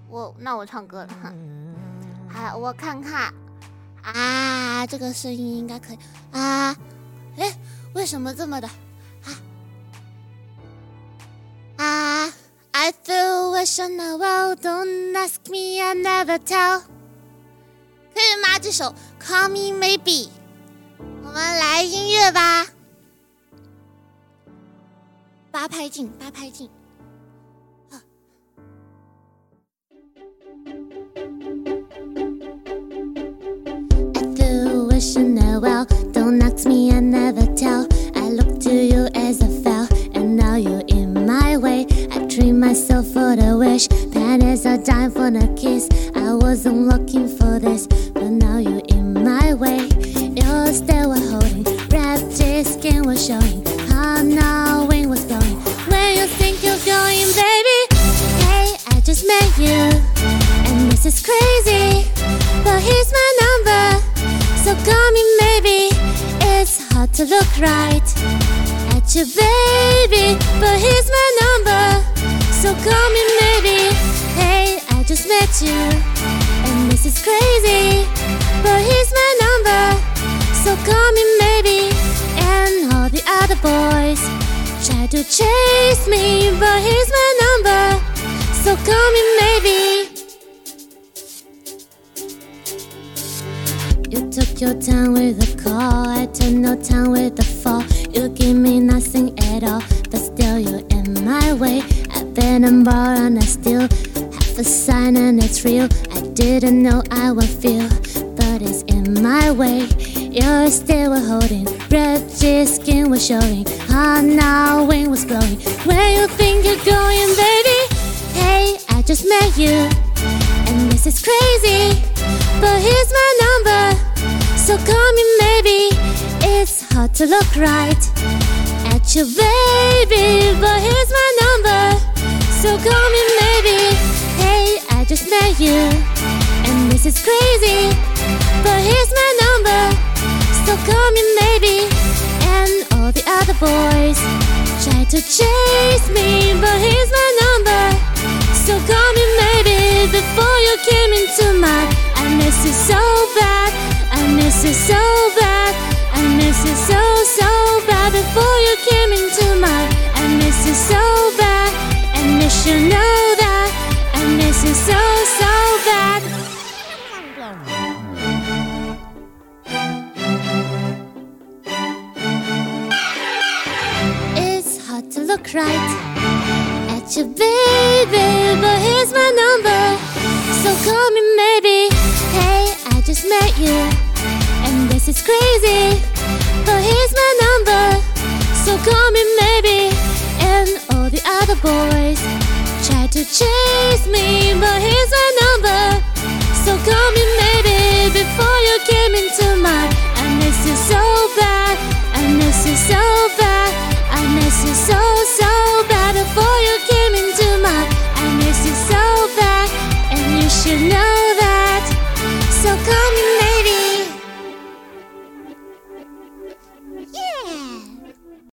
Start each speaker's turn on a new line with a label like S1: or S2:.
S1: 那我唱歌了哈。好，我看看啊，这个声音应该可以啊。为什么这么的I feel wish on the world, don't ask me, I never tell。 可以吗？这首 Call Me Maybe， 我们来音乐吧。八拍进。I feel wish on the world, don't ask me, I never tell。 I look to you as I fell, and now you're in my way。 I treat myself for the wish, pennies are dime for the kiss。 I wasn't looking for this, but now you're in my way。 Your stare was holding, red skin was showing, heart now wind was blowing。 When you think you're going, baby, hey, I just met you, and this is crazy, but here's my number, so call me maybe. It's hard to look right at you, baby, but here's my number, so call me maybe. Hey, I just met you, and this is crazy, but here's my number, so call me maybe. And all the other boys try to chase me, but here's my number, so call me maybe. You took your time with the call, I took no time with the fall. You give me nothing at all, but still you're in my way. I've been on board and I still have a sign and it's real. I didn't know I would feel, but it's in my way. Your stare was holding, red skin was showing, heart now wind was blowing. Where you think you're going, baby? Hey, I just met you, and this is crazy, but here's my number, so call me maybe. It's hard to look right at you, baby, but here's my number, so call me maybe. Hey, I just met you, and this is crazy, but here's my number, so call me maybe. And all the other boys try to chase me, but here's my number, so call me maybe. Before you came into my, I miss you so bad, I miss you so bad, I miss you so bad. Before you came into my, I miss you so bad, and you should know that I miss you so bad. It's hard to look right at you, baby, but here's my number, so call me maybe. Hey, I just met you, and this is crazy, but here's my number, so call me maybe. And all the other boys try to chase me, but here's my number, so call me maybe. Before you came into my, I miss you so bad, I miss you so bad, I miss you so bad. Before you came into my, I miss you so bad, and you should know